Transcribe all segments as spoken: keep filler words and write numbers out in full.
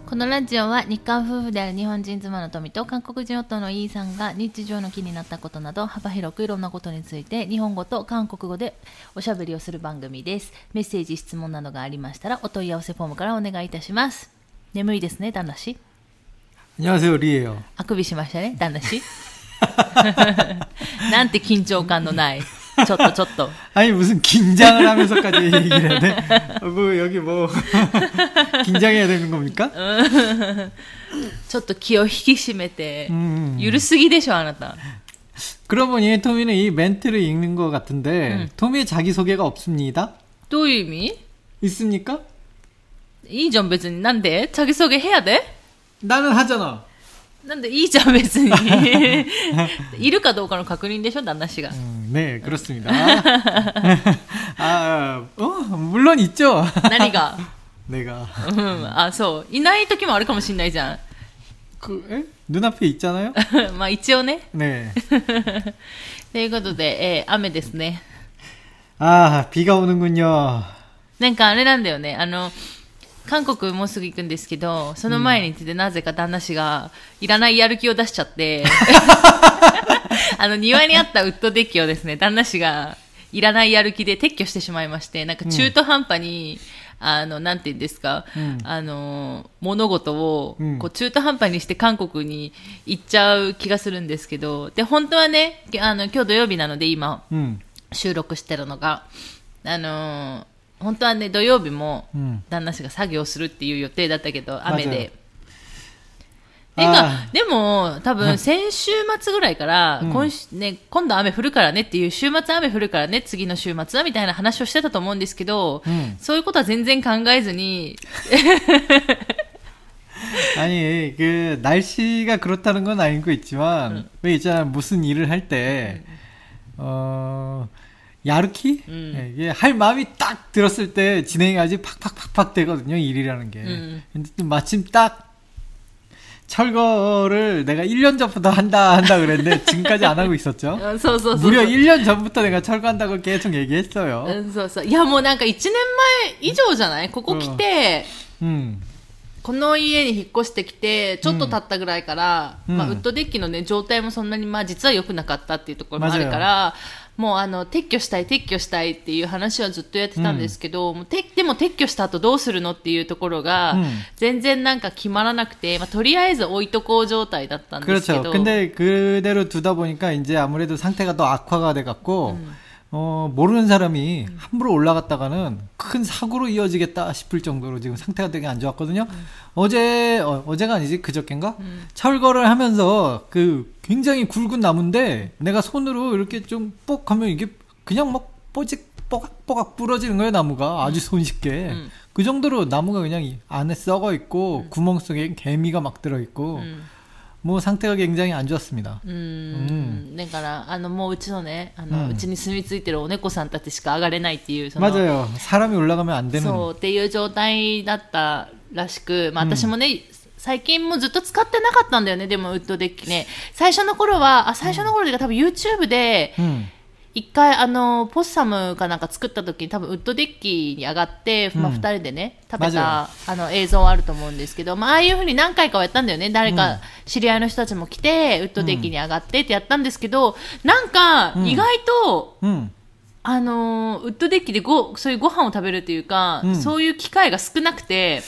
このラジオは日韓夫婦である日本人妻の富と韓国人夫のイーさんが日常の気になったことなど幅広くいろんなことについて日本語と韓国語でおしゃべりをする番組です。メッセージ質問などがありましたらお問い合わせフォームからお願いいたします。眠いですね旦那氏。 안녕하세요 리예요。 あくびしましたね旦那氏。なんて緊張感のないちょっとちょっと 아니 무슨 긴장을 하면서까지 얘기를 해야 돼? 뭐 여기 뭐 긴장해야 되는 겁니까? ちょっと気を引き締めてゆるすぎでしょあなた。 그러고 보니 토미는 이 멘트를 읽는 것 같은데 음. 토미의 자기소개가 없습니다. どういう意味? 있습니까? いいじゃん別に。なんで자기소개 해야 돼? 나는 하잖아. なんでいいじゃん別に。いるかどうかの確認でしょ旦那氏が。 음, 네 그렇습니다. 아, 어, 물론 있죠. 何が? 내가. 음, 아, そう。いない時もあるかもしれないじゃん。 그, 에? 눈앞에 있잖아요. まあ一応ね。 네. ということで、えー、雨ですね。 아, 비가 오는군요. なんかあれなんだよね。あの。韓国もうすぐ行くんですけど、その前に言ってなぜか旦那氏がいらないやる気を出しちゃって、あの庭にあったウッドデッキをですね、旦那氏がいらないやる気で撤去してしまいまして、なんか中途半端に、うん、あのなんて言うんですか、うん、あの物事をこう中途半端にして韓国に行っちゃう気がするんですけど、で本当はね、あの今日土曜日なので今、うん、収録してるのがあの。本当はね土曜日も旦那氏が作業するっていう予定だったけど、うん、雨でてかでも多分先週末ぐらいから、うん今週ね、今度雨降るからねっていう週末雨降るからね次の週末はみたいな話をしてたと思うんですけど、うん、そういうことは全然考えずに 아니 그 날씨가 그렇다는 건 알고 있지만 응. 왜 있잖아 무슨 일을 할 때 어. 야르키? 음. 네, 이게 할 마음이 딱 들었을 때 진행하지 팍팍팍팍 되거든요, 일이라는 게. 음. 근데 마침 딱 철거를 내가 일 년 전부터 한다, 한다 그랬는데 지금까지 안 하고 있었죠. 어, 소, 소, 소, 무려 소. 일 년 전부터 내가 철거한다고 계속 얘기했어요. 음, 소, 소. 야, 뭐, 뭔가 일 년以上じゃないここ来て、うん。この家に引っ越してきてちょっと経ったぐらいから、うんまあ、ウッドデッキの、ね、状態もそんなに、まあ、実は良くなかったっていうところもあるからもうあの撤去したい撤去したいっていう話はずっとやってたんですけど、うん、もうてでも撤去した後どうするのっていうところが、うん、全然なんか決まらなくて、まあ、とりあえず置いとこう状態だったんですけど 그렇죠. 근데 그대로 두다 보니까 이제 아무래도 상태가 더 악화가 돼 갖고 음. 어, 모르는 사람이 음. 함부로 올라갔다가는 큰 사고로 이어지겠다 싶을 정도로 지금 상태가 되게 안 좋았거든요. 음. 어제, 어, 어제가 아니지, 그저껜가? 음. 철거를 하면서 그 굉장히 굵은 나무인데 내가 손으로 이렇게 좀 뽁 하면 이게 그냥 막 뽀직, 뽀각뽀각 부러지는 거예요, 나무가. 아주 손쉽게. 음. 그 정도로 나무가 그냥 안에 썩어 있고 음. 구멍 속에 개미가 막 들어 있고 음.もう 상태가 굉장히 안 좋았습니다. うーん、だからあのもううちのね、あのうちに住み着いてるお猫さんたちしか上がれないっていうその 맞아요. 사람이 올라가면 안 되는 そうっていう状態だったらしく、まあ私もね、うん、最近もずっと使ってなかったんだよね。でもウッドデッキね、最初の頃はあ最初の頃で多分 YouTube で、うん一回あのポッサムかなんか作った時に多分ウッドデッキに上がって、まあ、ふたりでね、うん、食べたあの映像はあると思うんですけど、まあ、ああいう風に何回かはやったんだよね。誰か知り合いの人たちも来て、うん、ウッドデッキに上がってってやったんですけど、なんか意外と、うん、あのウッドデッキでごそういうご飯を食べるっていうか、うん、そういう機会が少なくて。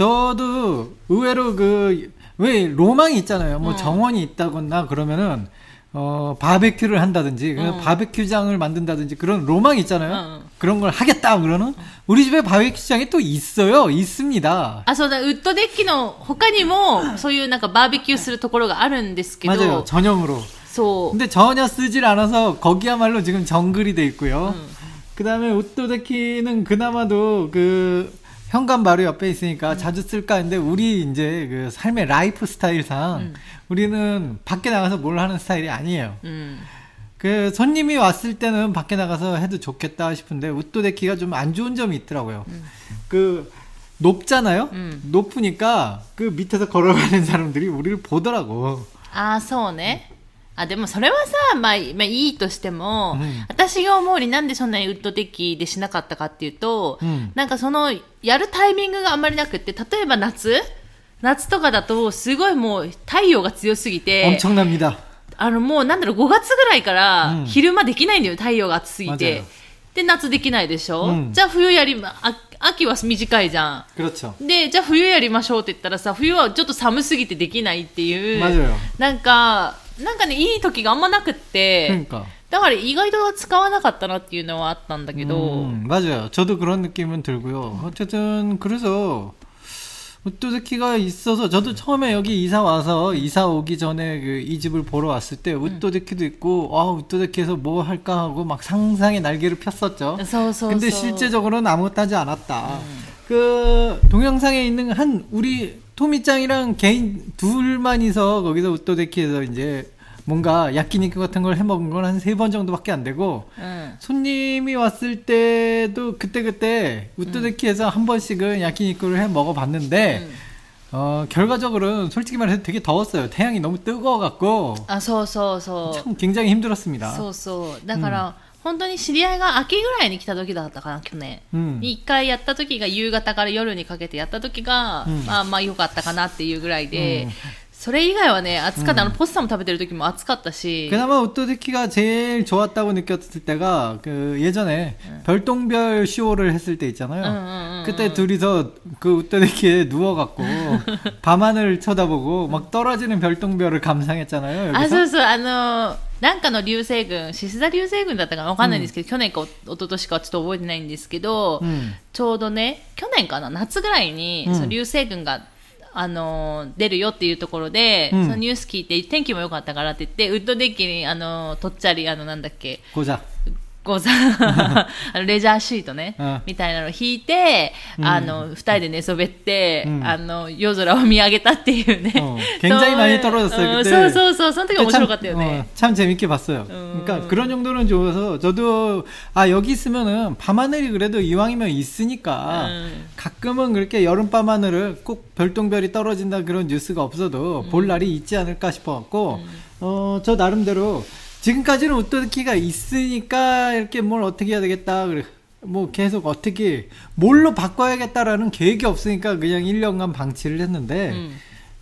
저도 의외로 그 왜 로망이 있잖아요. 뭐 음. 정원이 있다거나 그러면은 어, 바베큐를 한다든지, 어. 바베큐장을 만든다든지 그런 로망이 있잖아요. 어. 그런 걸 하겠다, 그러는. 우리 집에 바베큐장이 또 있어요. 있습니다. 아, そうだ、ウッドデッキの他にもそういうなんかバーベキューするところがあるんですけど 맞아요. 전용으로. そう。 근데 전혀 쓰질 않아서 거기야말로 지금 정글이 돼 있고요. 음. 그다음에 우드 데키는 그나마도 그 현관 바로 옆에 있으니까 음. 자주 쓸까 했는데 우리 이제 그 삶의 라이프 스타일상 음. 우리는 밖에 나가서 뭘 하는 스타일이 아니에요. 음. 그 손님이 왔을 때는 밖에 나가서 해도 좋겠다 싶은데 우드 데키가 좀 안 좋은 점이 있더라고요. 음. 그 높잖아요. 음. 높으니까 그 밑에서 걸어가는 사람들이 우리를 보더라고. 아, そうね。あでもそれはさ、まあ、まあいいとしても、うん、私が思うになんでそんなにウッドデッキでしなかったかっていうと、うん、なんかそのやるタイミングがあんまりなくって、例えば夏夏とかだとすごいもう太陽が強すぎて 엄청납니다. あのもうなんだろうごがつぐらいから昼間できないんだよ、太陽が暑すぎて。 맞아요. で夏できないでしょ、 うん、 じゃあ冬やりまあ秋は短いじゃん。 그렇죠. でじゃあ冬やりましょうって言ったらさ、冬はちょっと寒すぎてできないっていう。 맞아요. なんかなんかねいい時があんまなくって、 그러니까. だから意外と使わなかったなっていうのはあったんだけど。 음, 맞아요. 저도 그런 느낌은 들고요. 어쨌든 그래서 웃도데키가 있어서 저도 처음에 여기 이사 와서 이사 오기 전에 그 이 집을 보러 왔을 때 웃도데키도 있고 아 웃도데키에서 뭐 할까 하고 막 상상의 날개를 폈었죠. 근데 실제적으로는 아무것도 하지 않았다. 음. 그 동영상에 있는 한 우리 토미짱이랑 개인 둘만이서 거기서 웃도데키에서 이제 뭔가 야끼니쿠 같은 걸 해먹은 건 한 세 번 정도밖에 안 되고 응. 손님이 왔을 때도 그때그때 웃도데키에서 응. 한 번씩은 야끼니쿠를 해 먹어봤는데 응. 어, 결과적으로는 솔직히 말해서 되게 더웠어요. 태양이 너무 뜨거워갖고 아, 소소소 참 굉장히 힘들었습니다. 소소. だから 本当に知り合いが秋ぐらいに来た時だったかな、去年、うん、にいっかいやった時が夕方から夜にかけてやった時が、うん、まあまあ良かったかなっていうぐらいで、うん、それ以外はね暑かった。 음. あのポッサム食べてる時も暑かったし。 그나마 웃도데키가 제일 좋았다고 느꼈을 때가 그 예전에 음. 별똥별 쇼를 했을 때 있잖아요. 음, 음, 음, 그때 둘이서 그 웃도데키에 누워갖고 밤하늘을 쳐다보고 막 떨어지는 별똥별을 감상했잖아요. 여기서. 아, そうそう、あのなんかの流星群、獅子座流星群だったかなわかんないんですけど、うん、去年かお一昨年かちょっと覚えてないんですけど、うん、ちょうどね去年かな夏ぐらいに、うん、その流星群があの出るよっていうところで、うん、そのニュース聞いて天気も良かったからって言ってウッドデッキにあのとっちゃりあのなんだっけゴザゴザあのレジャーシートね、うん、みたいなのを引いて、うん、あの二人で寝そべって、うん、あの夜空を見上げたっていうね。 굉장히 많이 떨어졌어요. 그때. そうそうそう、その時面白かったよね。 참 재밌게 봤어요. 그러니까 그런 정도는 좋아서 저도 아 여기 있으면은 밤하늘이 그래도 이왕이면 있으니까 음. 가끔은 그렇게 여름 밤하늘을 꼭 별똥별이 떨어진다 그런 뉴스가 없어도 음. 볼 날이 있지 않을까 싶어갖고 음. 어, 저 나름대로 지금까지는 웃도데키가 있으니까 이렇게 뭘 어떻게 해야 되겠다 그래 뭐 계속 어떻게 뭘로 바꿔야겠다라는 계획이 없으니까 그냥 일 년간 방치를 했는데 음.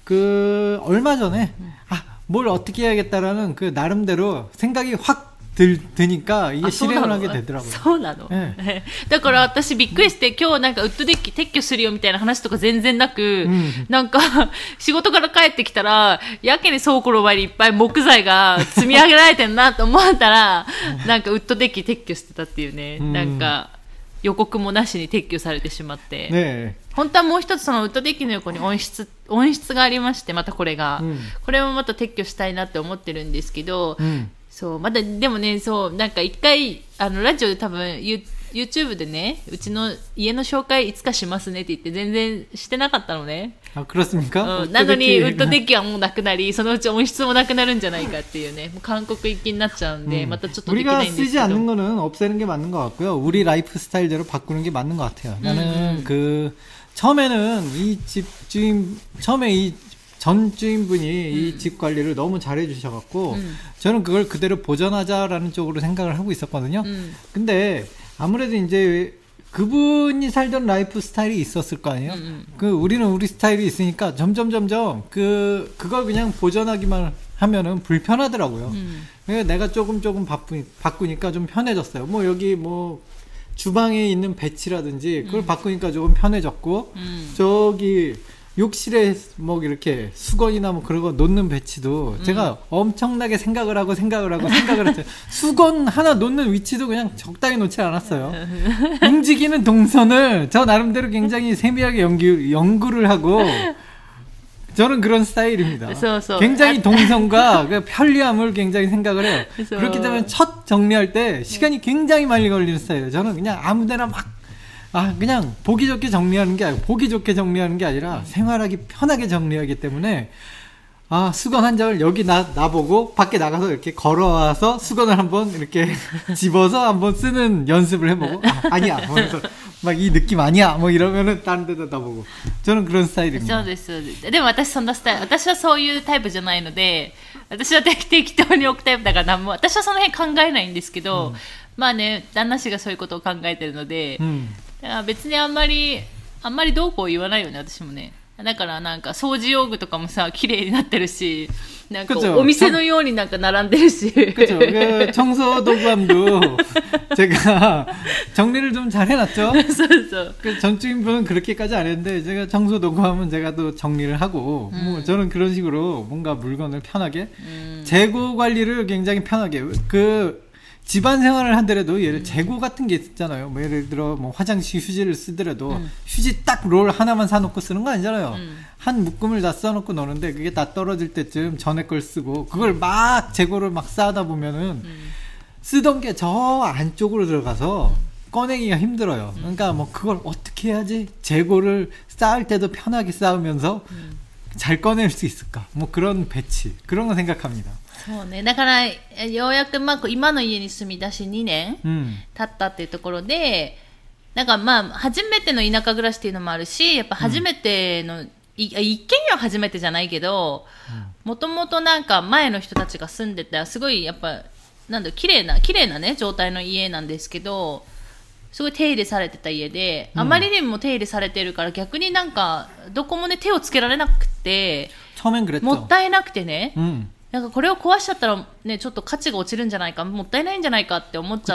그 얼마 전에 음. 아 뭘 어떻게 해야겠다라는 그 나름대로 생각이 확 들, 드니까 이게 실행을 하게 되더라고요. そうなの。ね、だから私びっくりして今日なんかウッドデッキ撤去するよみたいな話とか全然なく、うん、なんか仕事から帰ってきたらやけに倉庫の前にいっぱい木材が積み上げられてるなと思ったらなんかウッドデッキ撤去してたっていうね、うん、なんか予告もなしに撤去されてしまって、ね、本当はもう一つそのウッドデッキの横に温室温室がありましてまたこれが、うん、これもまた撤去したいなって思ってるんですけど、うんそうまだでもねそうなんか一回あのラジオで多分 YouTube でねうちの家の紹介いつかしますねって言って全然してなかったのね。 あ、그렇습니까？うん、 なのにウッドデッキはもうなくなりそのうち温室もなくなるんじゃないかっていうねもう韓国行きになっちゃうんで、うん、またちょっとできないんですけど 우리가 쓰지 않는 거는 없애는 게 맞는 것 같고요. 우리 라이프 스타일대로 바꾸는 게 맞는 것 같아요. 나는 음. 그 처음에는 이 집 주인 처음에 이 전 주인분이 음. 이 집 관리를 너무 잘해 주셔갖고 음. 저는 그걸 그대로 보존하자라는 쪽으로 생각을 하고 있었거든요. 음. 근데 아무래도 이제 그분이 살던 라이프 스타일이 있었을 거 아니에요. 음. 그 우리는 우리 스타일이 있으니까 점점 점점 그 그걸 그냥 보존하기만 하면은 불편하더라고요. 음. 그래서 내가 조금 조금 바꾸, 바꾸니까 좀 편해졌어요. 뭐 여기 뭐 주방에 있는 배치라든지 그걸 음. 바꾸니까 조금 편해졌고 음. 저기 욕실에 뭐 이렇게 수건이나 뭐 그런 거 놓는 배치도 음. 제가 엄청나게 생각을 하고 생각을 하고 생각을 했어요. 수건 하나 놓는 위치도 그냥 적당히 놓지 않았어요. 움직이는 동선을 저 나름대로 굉장히 세밀하게 연구, 연구를 하고 저는 그런 스타일입니다. 굉장히 동선과 그 편리함을 굉장히 생각을 해요. 그렇기 때문에 첫 정리할 때 시간이 굉장히 많이 걸리는 스타일이에요. 저는 그냥 아무데나 막 아, 그냥 보기 좋게 정리하는 게 아니고 보기 좋게 정리하는 게 아니라 생활하기 편하게 정리하기 때문에 아, 수건 한 장을 여기 나, 나보고 밖에 나가서 이렇게 걸어와서 수건을 한번 이렇게 집어서 한번 쓰는 연습을 해보고 아, 아니야 뭐 그래서 막 이 느낌 아니야 뭐 이러면은 다른 데다 놔보고 저는 그런 스타일입니다. そうです。でも私そんなスタイル私はそういうタイプじゃないので私は適当に置くタイプだから何も私はその辺考えないんですけど、うん、まあね旦那氏がそういうことを考えてるので、うん、だから別にあんまりあんまりどうこう言わないよね私もねだからなんか掃除用具とかもさ綺麗になってるし、なんか 그쵸. お店のようになんか並んでるし 그렇죠. 그 청소 도구함도 제가 정리를 좀 잘 해놨죠. 그 전주인분은 그렇게까지 안 했는데 제가 청소 도구함은 제가 또 정리를 하고 음. 뭐 저는 그런 식으로 뭔가 물건을 편하게 음. 재고 관리를 굉장히 편하게 그 집안 생활을 한더라도 예를 재고 같은 게 있잖아요. 뭐 예를 들어 뭐 화장실 휴지를 쓰더라도 음. 휴지 딱 롤 하나만 사놓고 쓰는 거 아니잖아요. 음. 한 묶음을 다 써놓고 노는데 그게 다 떨어질 때쯤 전에 걸 쓰고 그걸 막 재고를 막 쌓다 보면은 음. 쓰던 게 저 안쪽으로 들어가서 꺼내기가 힘들어요. 그러니까 뭐 그걸 어떻게 해야지 재고를 쌓을 때도 편하게 쌓으면서 음. 잘 꺼낼 수 있을까? 뭐 그런 배치 그런 거 생각합니다. そうね。だから、ようやく、まあ、今の家に住み出しにねん経ったっていうところで、なんかまあ、初めての田舎暮らしっていうのもあるし、やっぱ初めての、うん、い一軒家は初めてじゃないけど、もともとなんか前の人たちが住んでた、すごいやっぱ、なんだろう、綺麗な、綺麗なね、状態の家なんですけど、すごい手入れされてた家で、あまりにも手入れされてるから、逆になんか、どこもね、手をつけられなくて、もったいなくてね、うん、なんかこれを壊しちゃったらね、ちょっと価値が落ちるんじゃないか、もったいないんじゃないかって思っちゃって、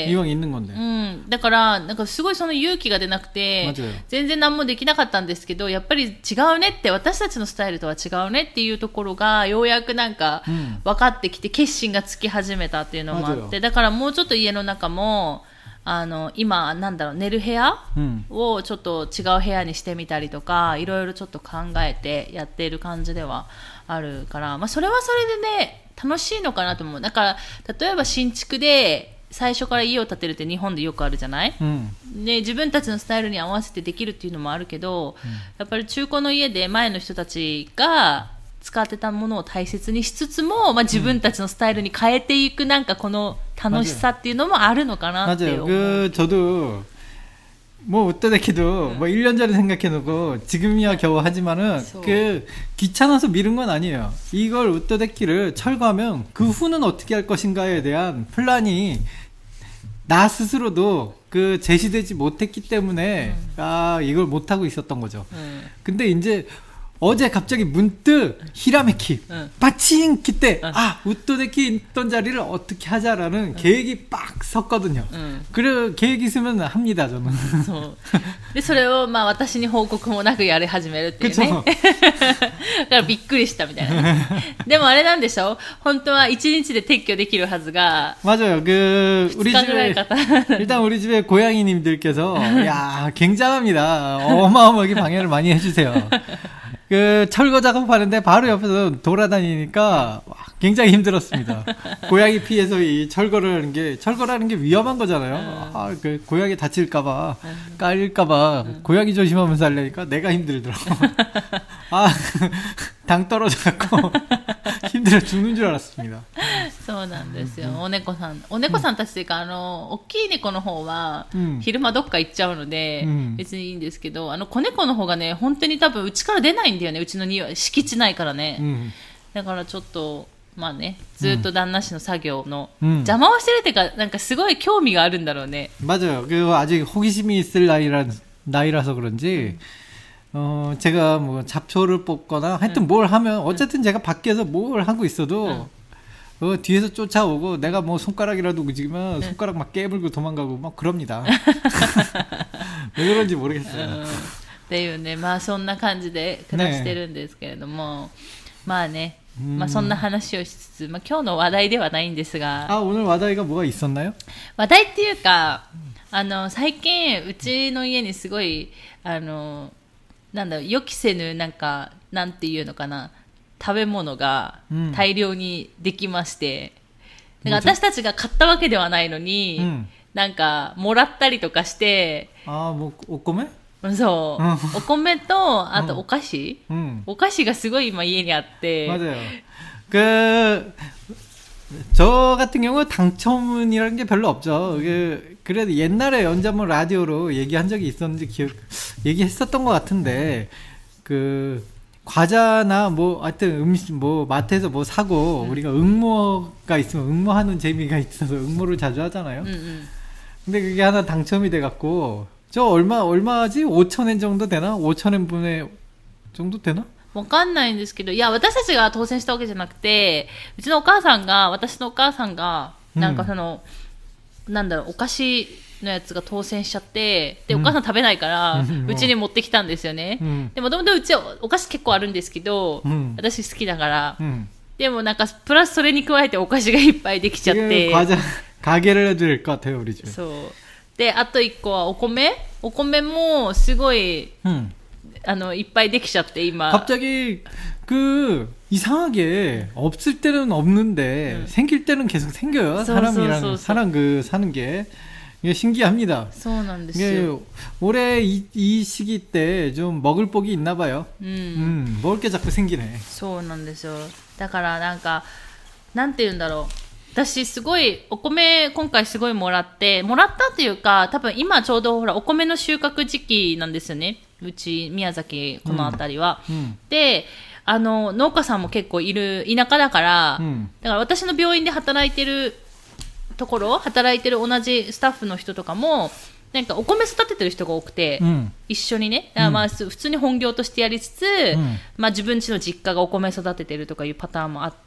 이왕 있는 건데。 うん。だから、なんかすごいその勇気が出なくて、全然何もできなかったんですけど、やっぱり違うねって、私たちのスタイルとは違うねっていうところが、ようやくなんか分かってきて、決心がつき始めたっていうのもあって、だからもうちょっと家の中も、あの、今、なんだろう、寝る部屋をちょっと違う部屋にしてみたりとか、いろいろちょっと考えてやっている感じではあるから、まあそれはそれでね、楽しいのかなと思う。だから、例えば新築で最初から家を建てるって日本でよくあるじゃない、うん、で、自分たちのスタイルに合わせてできるっていうのもあるけど、うん、やっぱり中古の家で前の人たちが使ってたものを大切にしつつも、まあ自分たちのスタイルに変えていくなんかこの楽しさっていうのもあるのかなって思う。 맞아요. 그 저도 뭐 어떠다키도 응. 뭐 일 년 전에 생각해놓고 지금이야 겨우 하지만은 so. 그 귀찮아서 미룬 건 아니에요. 이걸 어떠다키를 철거하면 그 후는 어떻게 할 것인가에 대한 플랜이 나 스스로도 그 제시되지 못했기 때문에 응. 아 이걸 못하고 있었던 거죠. 응. 근데 이제 어제 갑자기 문득 히라메키 응. 빠칭 기때 응. 아 우토데키 있던 자리를 어떻게 하자라는 응. 계획이 빡 섰거든요. 응. 그래 계획 있으면 합니다 저는. でそれをまあ私に報告もなくやり始めるっていうね。だからびっくりしたみたいな。でもあれなんでしょ？本当は一日で撤去できるはずが。 맞아요. 그 우리 집에 일단 우리 집에 고양이님들께서 야 굉장합니다. 어마어마하게 방해를 많이 해주세요. 그 철거 작업하는데 바로 옆에서 돌아다니니까 굉장히 힘들었습니다. 고양이 피해서 이 철거를 하는 게 철거라는 게 위험한 거잖아요. 아, 그 고양이 다칠까봐 깔릴까봐 고양이 조심하면서 하려니까 내가 힘들더라고. 아, 당 떨어져갖고 힘들어 죽는 줄 알았습니다. そうなんですよ。お猫さん、お猫さんたちというか、あの、大きい猫の方は、昼間どっか行っちゃうので、別にいいんですけど、あの、子猫の方がね、本当に多分、うちから出ないんだよね、うちの庭、敷地ないからね。だからちょっと、まあね、ずっと旦那氏の作業の邪魔をしてるっていうか、なんかすごい興味があるんだろうね。 맞아요. 그 아직 호기심이 있을 나이라, 나이라서 그런지, 어, 제가 뭐 잡초를 뽑거나 하여튼 응. 뭘 하면 어쨌든 응. 제가 밖에서 뭘 하고 있어도 응. 어, 뒤에서 쫓아오고 내가 뭐 손가락이라도 움직이면 응. 손가락 막 깨물고 도망가고 막 그럽니다. 왜 그런지 모르겠어요. っていうね、まあそんな感じで暮らしてるんですけれども、まあね、まあそんな話をしつつ、まあ今日の話題ではないんですが、 あ、오늘話題が뭐가 있었나요? 話題っていうか、あの最近うちの家にすごいあのなんだろう、予期せぬなんかなんていうのかな、食べ物が大量にできまして、うん、なんか私たちが買ったわけではないのに、うん、なんかもらったりとかして、 ああ、もうお米？ そう、お米とあとお菓子、うん、お菓子がすごい今家にあって。 맞아요. 그 저 같은 경우 당첨이라는 게 별로 없죠. 그 그래도 옛날에 언제 한번 라디오로 얘기한 적이 있었는지 기억 얘기했었던 것 같은데 그 과자나 뭐 하여튼 음식 뭐 마트에서 뭐 사고 음. 우리가 응모가 있으면 응모하는 재미가 있어서 응모를 자주 하잖아요. 음, 음. 근데 그게 하나 당첨이 돼 갖고 저 얼마 얼마지 오천 엔 정도 되나 오천 엔 분의 정도 되나? わかんないんですけど、いや、私たちが当選したわけじゃなくて、うちのお母さんが、私のお母さんが、なんかその、うん、なんだろう、お菓子のやつが当選しちゃって、で、お母さん食べないから、うちに持ってきたんですよね。うん、でもともとうちはお菓子結構あるんですけど、うん、私好きだから、うん、でもなんか、プラスそれに加えてお菓子がいっぱいできちゃって。 가게를해드릴것같아요우리집에 そう。で、あと一個はお米お米もすごい、うん、あの、いっぱいできちゃって、今。 갑자기 그 이상하게 없을 때는 없는데 음. 생길 때는 계속 생겨요. 소, 사람이랑 소, 소, 소. 사람 그 사는 게 이게 신기합니다. 이게 올해 이, 이 시기 때 좀 먹을 복이 있나 봐요. 음. 음, 먹을 게 자꾸 생기네. そうなんですよ。だからなんかなんて言うんだろう。私すごいお米今回すごいもらってもらったっていうか多分今ちょうどほらお米の収穫時期なんですよね。うち宮崎この辺りは、うんうん、であの農家さんも結構いる田舎だから、うん、だから私の病院で働いてるところ働いてる同じスタッフの人とかもなんかお米育ててる人が多くて、うん、一緒にね、まあ、普通に本業としてやりつつ、うん、まあ、自分家の実家がお米育ててるとかいうパターンもあって、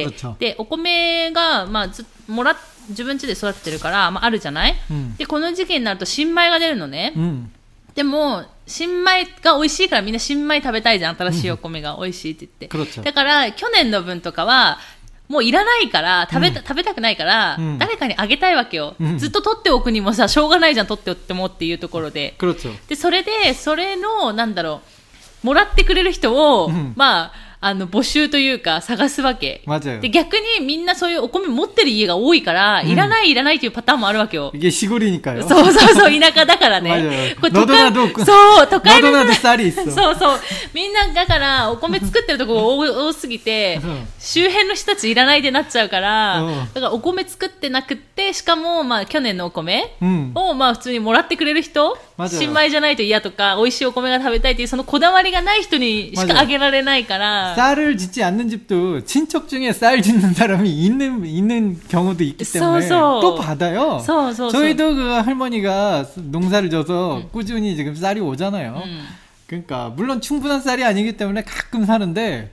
でお米が、まあ、ずもら自分家で育ててるから、まあ、あるじゃない、うん、でこの時期になると新米が出るのね、うん、でも新米が美味しいからみんな新米食べたいじゃん、新しいお米が美味しいって言って、うん、だから去年の分とかはもういらないから食べた、うん、食べたくないから、うん、誰かにあげたいわけよ、うん、ずっと取っておくにもさしょうがないじゃん取っておってもっていうところで、でそれでそれのなんだろうもらってくれる人を、うん、まああの募集というか探すわけで逆にみんなそういうお米持ってる家が多いから、うん、いらないいらないというパターンもあるわけよ。 이게 시골이니까요。 そうそうそう田舎だからね。これ都会そう都会のそうそうみんなだからお米作ってるところ多すぎて周辺の人たちいらないでなっちゃうからだからお米作ってなくってしかもまあ去年のお米をまあ普通にもらってくれる人、新米じゃないと嫌とか美味しいお米が食べたいっていうそのこだわりがない人にしかあげられないから。 쌀을 짓지 않는 집도 친척 중에 쌀 짓는 사람이 있는 있는 경우도 있기 때문에 so, so. 또 받아요. so, so, so. 저희도 그 할머니가 농사를 져서 음. 꾸준히 지금 쌀이 오잖아요. 음. 그러니까 물론 충분한 쌀이 아니기 때문에 가끔 사는데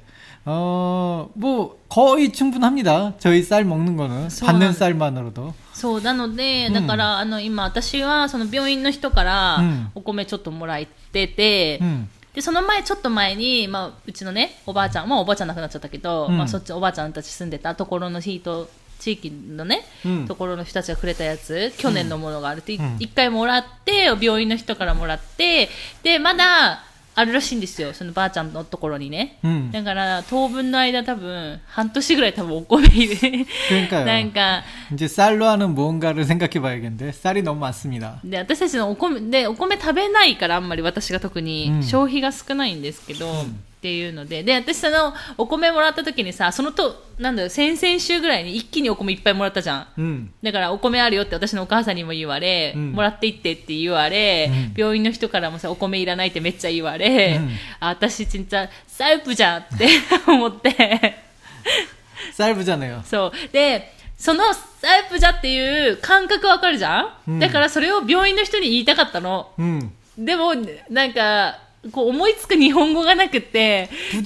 어, 뭐 거의 충분합니다. 저희 쌀 먹는 거는 받는 쌀만으로도. そうなので、だから、うん、あの今私はその病院の人からお米ちょっともらってて、うん、でその前ちょっと前に、まあ、うちのねおばあちゃんもうおばあちゃん亡くなっちゃったけど、うん、まあ、そっちおばあちゃんたち住んでたところの人地域のね、うん、ところの人たちがくれたやつ去年のものがあるって、うん、一回もらって病院の人からもらってでまだあるらしいんですよそのばあちゃんのところにね、うん、だから当分の間多分半年ぐらい多分お米なんか 이제 쌀로 하는 무언가를 생각해봐야겠는데 쌀이 너무 많습니다. で私たちのお米でお米食べないからあんまり私が特に消費が少ないんですけど、うん、っていうのでで私そのお米もらった時にさそのとなんだろう先々週ぐらいに一気にお米いっぱいもらったじゃん、うん、だからお米あるよって私のお母さんにも言われ、うん、もらっていってって言われ、うん、病院の人からもさお米いらないってめっちゃ言われ、うん、あ私ちんちゃサイプじゃんって思ってサイプじゃねよそうでそのサイプじゃっていう感覚わかるじゃん、うん、だからそれを病院の人に言いたかったの、うん、でもなんかこう思いつく日本語がなくて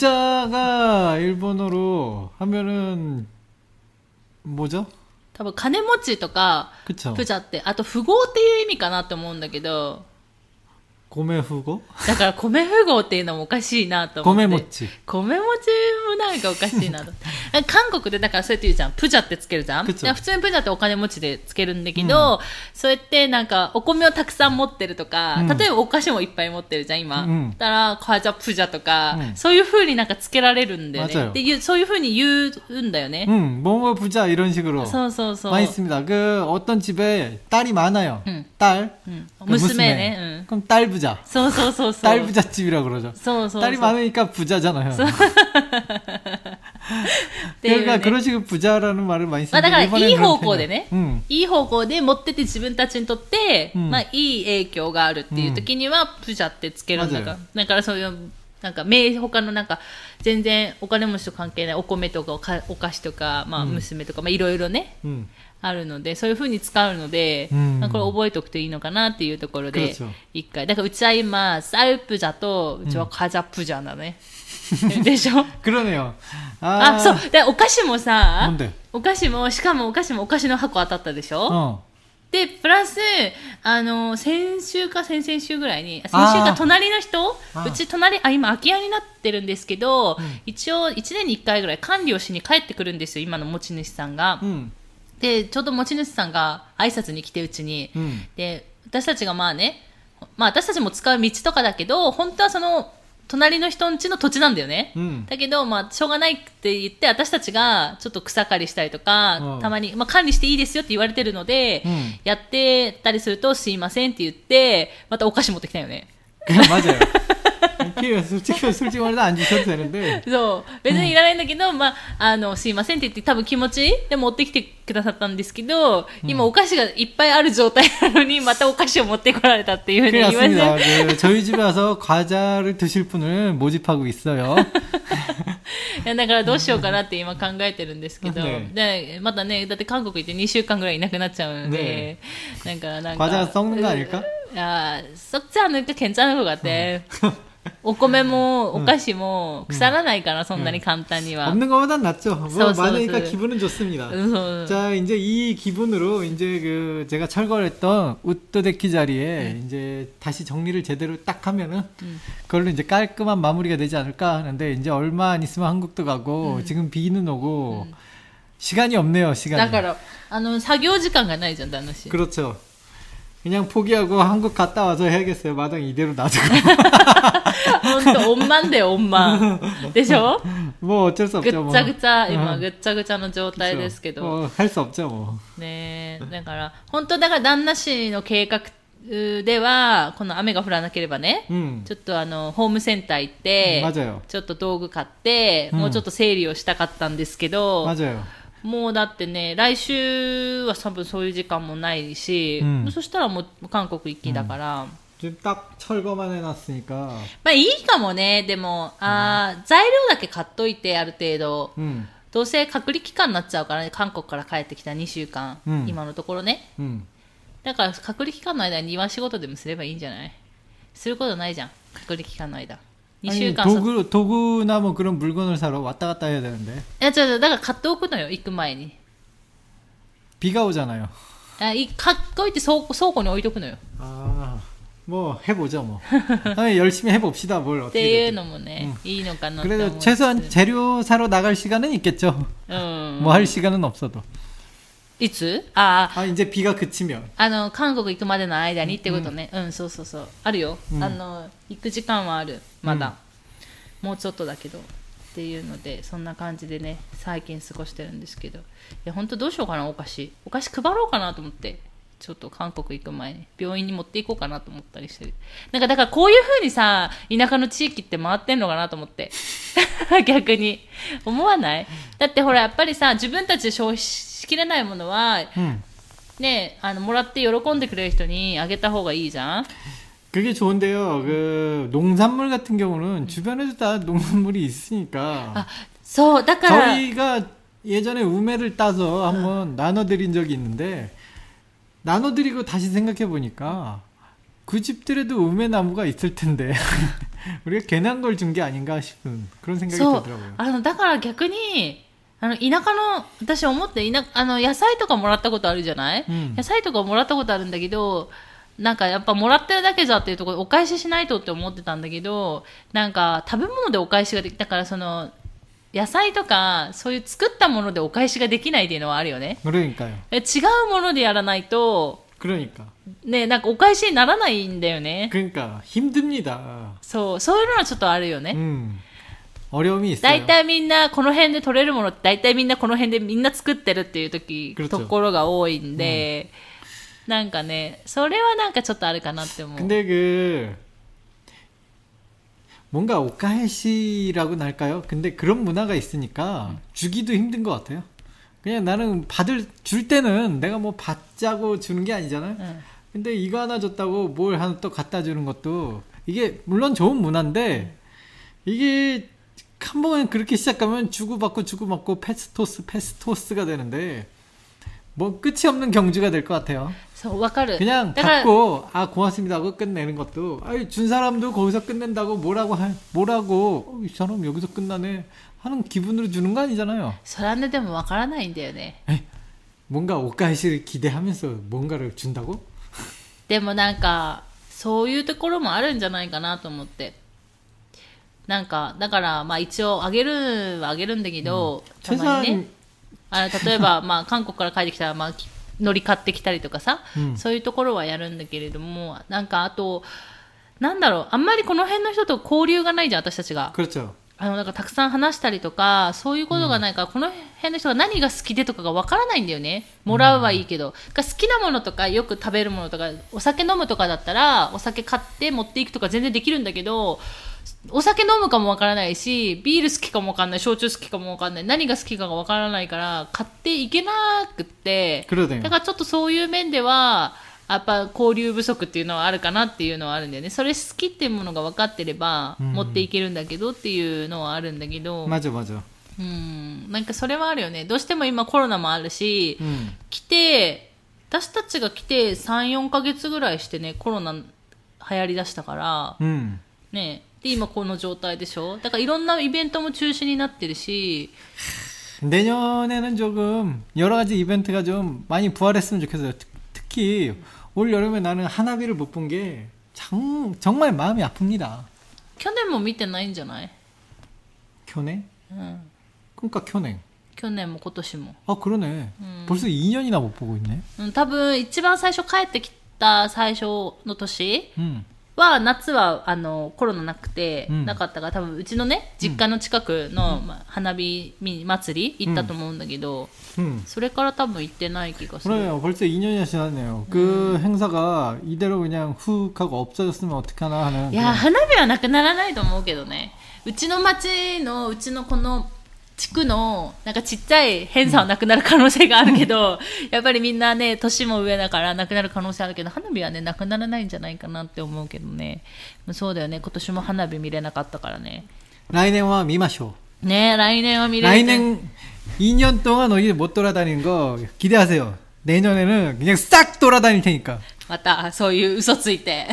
부자가 일본어로 하면은 뭐죠? 多分金持ちとか 부자ってあと富豪っていう意味かなって思うんだけど米富豪? だから米富豪っていうのもおかしいなと思って米持ち米持ちもなんかおかしいなと韓国でだからそうやって言うじゃんプジャってつけるじゃん普通にプジャってお金持ちでつけるんだけど、うん、そうやってなんかお米をたくさん持ってるとか、うん、例えばお菓子もいっぱい持ってるじゃん今、うん、だからカジャプジャとか、うん、そういう風になんかつけられるんだよねでそういう風に言うんだよねうん뭐뭐 부자 이런 식으로 そうそうそう 많이 있습니다 그 어떤 집에 딸이 많아요 응. 딸 응.娘ね 응. 그럼 딸 부자 そうそうそうそう 딸 부잣집이라고 그러죠 そうそうそう 딸이 많으니까 부자잖아요 그러니까 그런 식으로 부자라는 말을 많이 쓰는데 だからいい方向でね、うん、いい方向で持ってて自分たちにとって、うん、まあいい影響があるっていう時には、うん、プジャってつけるんだから、だからそういうなんか名他のなんか全然お金持ちと関係ないお米とかお菓子とかまあ娘とか、うん、まあいろいろね、うん、 あるので、そういう風に使うので、 うん、 これ覚えておくといいのかなっていうところで、 그렇죠 一回。だからうちは今、쌀プジャと、うちはカジャプジャだね。でしょ 그러네요。 あ、そう。で、お菓子もさ、 なんでお菓子も、しかもお菓子もお菓子の箱当たったでしょ、 うんで、プラス、あの、先週か先々週ぐらいに、先週か隣の人、うち隣、あ、今空き家になってるんですけど、うん、一応いちねんにいっかいぐらい管理をしに帰ってくるんですよ、今の持ち主さんが。うん、で、ちょうど持ち主さんが挨拶に来てうちに、うん、で、私たちがまあね、まあ私たちも使う道とかだけど、本当はその、隣の人ん家の土地なんだよね、うん、だけど、まあ、しょうがないって言って私たちがちょっと草刈りしたりとか、うん、たまに、まあ、管理していいですよって言われてるので、うん、やってたりするとすいませんって言ってまたお菓子持ってきたよね。 맞아요。솔직히솔직히말해도안주셔도되는데 そう別にいらないんだけど、まあ、あのすいませんって言って多分気持ちで持ってきてくださったんですけど、今お菓子がいっぱいある状態なのにまたお菓子を持ってこられたっていうふうに言われて 그 저희 집에 와서 과자를 드실 분을 모집하고 있어요。 いやだからどうしようかなって今考えてるんですけど、ね、でまたねだって韓国行ってにしゅうかんぐらいいなくなっちゃうので、ね、なんかなんか 과자 썩는 거 아닐까? 야 썩지 않을까 괜찮은 것 같아。お米もお菓子も腐らないから、そんなに簡単には。 없는 것보단 낫죠. 뭐 많으니까 기분은 좋습니다. 자, 이제 이 기분으로 이제 그 제가 철거했던 우토데키 자리에 음. 이제 다시 정리를 제대로 딱 하면은 음. 그걸로 이제 깔끔한 마무리가 되지 않을까 하는데 이제 얼마 안 있으면 한국도 가고 음. 지금 비는 오고 음. 시간이 없네요, 시간이. だからあの作業時間がないじゃん、旦那氏。 그렇죠. 그냥 포기하고 한국 갔다 와서 해야겠어요. 마당 이대로 놔두고. 혼또 엄마인데 엄마. でしょ? 뭐 어쩔 수 없죠. ぐっちゃぐちゃ今ぐっちゃぐちゃの状態ですけど。 뭐 할 수 없죠, 뭐. ねえ、だから本当だから旦那氏の計画ではこの雨が降らなければね、うん、ちょっとあのホームセンター行って、うん、ちょっと道具買って、うん、もうちょっと整理をしたかったんですけど。 맞아요. もうだってね来週は多分そういう時間もないし、うん、そしたらもう韓国行きだから、 うん、딱 철거만 해놨으니까 まあいいかもね。でもあ、うん、材料だけ買っといてある程度、うん、どうせ隔離期間になっちゃうからね、韓国から帰ってきたにしゅうかん、うん、今のところね、うん、だから隔離期間の間に庭仕事でもすればいいんじゃない？することないじゃん隔離期間の間。 아니, 도구, 도구나 뭐 그런 물건을 사러 왔다 갔다 해야 되는데. 야, 저, 저, 내가 갔다 오거든요, 입금前に. 비가 오잖아요. 아, 이, 갖고 있대, 소, 소고에 오이도구노요. 아, 뭐, 해보죠, 뭐. 아니, 열심히 해봅시다, 뭘 어떻게. っていうのもね、いいのかなって 그래도 최소한 재료 사러 나갈 시간은 있겠죠. 음. 뭐 할 시간은 없어도. いつ? 아, 아, 이제 비가 그치면. あの、韓国行くまでの間にってことね。うん、そうそうそう。あるよ。あの、行く時間はある。まだ。もうちょっとだけど。っていうので、そんな感じでね、最近過ごしてるんですけど。いや、ほんとどうしようかな、お菓子。お菓子配ろうかなと思って。ちょっと韓国行く前に。病院に持っていこうかなと思ったりしてる。なんか、だからこういう風にさ、田舎の地域って回ってんのかなと思って。逆に。思わない？だってほら、やっぱりさ、自分たちで消費しきれないものは、うん、ね、あのもらって喜んでくれる人にあげた方がいいじゃん。 그게 좋은데요. 그 농산물 같은 경우는 주변에도 다 농산물이 있으니까. 아, so, 저희가 예전에 우메를 따서 한번 나눠드린 적이 있는데 나눠드리고 다시 생각해 보니까 그 집들에도 우메 나무가 있을 텐데 우리가 괜한 걸 준 게 아닌가 싶은 그런 생각이 들더라고요. 아, だから逆にあの田舎の私思って田あの野菜とかもらったことあるじゃない、うん、野菜とかもらったことあるんだけどなんかやっぱもらってるだけじゃっていうところでお返ししないとって思ってたんだけどなんか食べ物でお返しができたからその野菜とかそういう作ったものでお返しができないっていうのはあるよね。 그러니까요。 違うものでやらないと 그러니까 ねなんかお返しにならないんだよね。 그러니까 힘듭니다。 そうそういうのはちょっとあるよね。 음. 어려움이 있어요. 大体みんなこの辺で取れるものって大体みんなこの辺でみんな作ってるっていう時 그렇죠. ところが多いんで、うん、なんかねそれはなんかちょっとあるかなって思う。 근데 그 뭔가 오카헤시라고 할까요? 근데 그런 문화가 있으니까 음. 주기도 힘든 것 같아요. 그냥 나는 받을 줄 때는 내가 뭐 받자고 주는 게 아니잖아요. 음. 근데 이거 하나 줬다고 뭘 하나 또 갖다 주는 것도 이게 물론 좋은 문화인데 이게 한번 그렇게 시작하면 주고받고 주고받고 패스토스 패스토스가 되는데 뭐 끝이 없는 경주가 될 것 같아요. そう、わかる。 그냥 だから、 받고 아 고맙습니다 하고 끝내는 것도 아이 준 사람도 거기서 끝낸다고 뭐라고 할 뭐라고 어, 이 사람 여기서 끝나네 하는 기분으로 주는 거 아니잖아요. それはね、でもわからないんだよね。 에이, 뭔가 옷가시를 기대하면서 뭔가를 준다고? でもなんか、そういうところもあるんじゃないかなと思って。なんか、だから、まあ一応あげるはあげるんだけど、たまにね、あ例えば、まあ韓国から帰ってきたら、まあ、海苔買ってきたりとかさ、うん、そういうところはやるんだけれども、なんかあと、なんだろう、あんまりこの辺の人と交流がないじゃん、私たちが。あの、なんかたくさん話したりとか、そういうことがないから、うん、この辺の人が何が好きでとかがわからないんだよね。もらうはいいけど。うん、好きなものとか、よく食べるものとか、お酒飲むとかだったら、お酒買って持っていくとか全然できるんだけど、お酒飲むかもわからないし、ビール好きかもわかんない、焼酎好きかもわかんない、何が好きかがわからないから、買っていけなくって、だからちょっとそういう面では、やっぱ交流不足っていうのはあるかなっていうのはあるんだよね。それ好きっていうものが分かってれば、持っていけるんだけどっていうのはあるんだけど。 まじまじ。 うん。なんかそれはあるよね。どうしても今コロナもあるし、うん、来て、私たちが来てさん、よんかげつぐらいしてね、コロナ流行りだしたから、うん、ね。で、今この状態でしょ。だからいろんなイベントも中止になってるし、 내년에는 조금 여러 가지 이벤트가 좀 많이 부활했으면 좋겠어요. 특히 올 여름에 나는 하나비를 못 본 게 정말 마음이 아픕니다. 去年も見てないんじゃない? 교내? 응. 그러니까 교내. 去年も今年も. 아 그러네. 음. 벌써 이 년이나 못 보고 있네. 음, 多分一番最初帰ってきた最初の年 음. は夏はあのコロナなくて、うん、なかったから多分うちのね実家の近くの、うんまあ、花火祭り行ったと思うんだけど、うん、それから多分行ってない気がする。 그래요. 벌써 이 년이나 지났네요. 그 음. 행사가 이대로 그냥 훅 하고 없어졌으면 어떡하나 하는. いや花火はなくならないと思うけどね。うちの町のうちのこの地区のなんかちっちゃい偏差はなくなる可能性があるけど、うん、やっぱりみんなね年も上だからなくなる可能性あるけど、花火はねなくならないんじゃないかなって思うけどね。そうだよね。今年も花火見れなかったからね。 来年は見ましょう。 ね、来年は見れる。 来年이 년 동안 어디 못 돌아다니는 거 기대하세요. 내년에는 그냥 싹 돌아다닐 테니까. またそういう嘘ついて。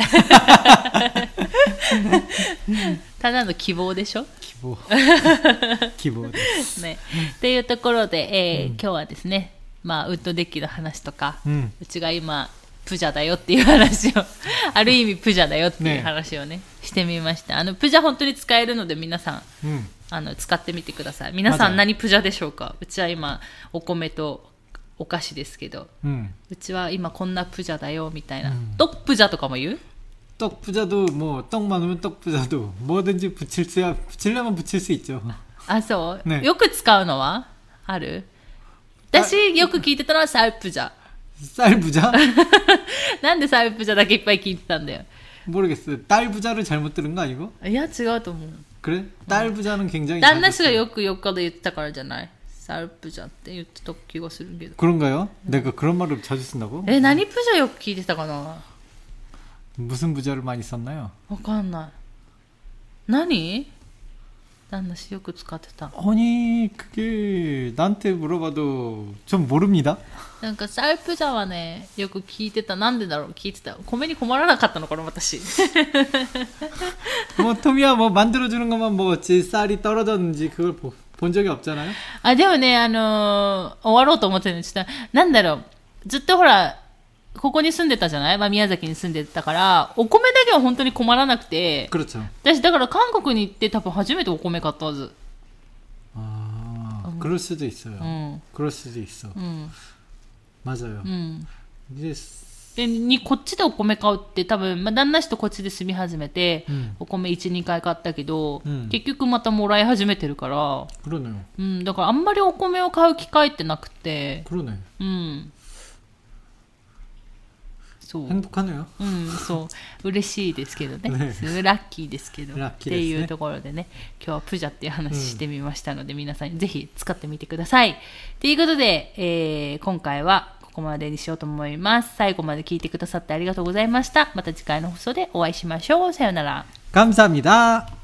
ただの希望でしょ。 希望。希望です。 ね。っていうところで、えーうん、今日はですね、まあウッドデッキの話とか、うん、うちが今プジャだよっていう話を、ある意味プジャだよっていう話をね、ねしてみました。あのプジャ本当に使えるので皆さん、うん、あの使ってみてください。皆さん何プジャでしょうか。うちは今お米とお菓子ですけど、うん、うちは今こんなプジャだよみたいな。떡プジャとかも言う？ 떡 부자도 뭐 떡 많으면 떡 부자도 뭐든지 붙일 수 붙이려면 붙일 수 있죠. 아, そう。ね。よく使うのはある？私よく聞いてたのは쌀 부자. 쌀 부자? なんで쌀 부자だけいっぱい聞いてたんだよ。 모르겠어요. 딸 부자를 잘못 들은 거 아니고? いや違うと思う。 그래? 딸 부자는 굉장히 旦那氏がよく横で言ってたからじゃない。쌀 부자って言ってた気がするけど。 그런가요? 내가 그런 말을 자주 쓴다고? え、何プジャよく聞いてたかな。 무슨 부자를 많이 썼나요? わかんない。何? 난나씨よく使ってた. 아니 그게 나한테 물어봐도 좀 모릅니다. なんか쌀 부자はねよく聞いてた。なんでだろう聞いてた。米に困らなかったのかな私. 뭐 토미야 뭐 만들어주는 것만 먹었지 쌀이 떨어졌는지 그걸 보, 본 적이 없잖아요. あでもねあのー、終わろうと思ってるちょっとなんだろうずっとほら。ここに住んでたじゃない、まあ、宮崎に住んでたからお米だけは本当に困らなくて私だから韓国に行って多分初めてお米買ったはず。 ああ、うん、그럴 수도 있어요. 응. 그럴 수도 있어. 응. 맞아요. 응. 이제 でにこっちでお米買うって多分、まあ、旦那氏とこっちで住み始めて、うん、お米 いち、にかい買ったけど、うん、結局またもらい始めてるから、うん、だからあんまりお米を買う機会ってなくて、うん。 행복하네요. 음, そう、嬉しいですけどね。ねラッキーですけど。っていうところでね、今日はプジャっていう話してみましたので、うん、皆さんぜひ使ってみてください。ということで、えー、今回はここまでにしようと思います。最後まで聞いてくださってありがとうございました。また次回の放送でお会いしましょう。さようなら。 감사합니다。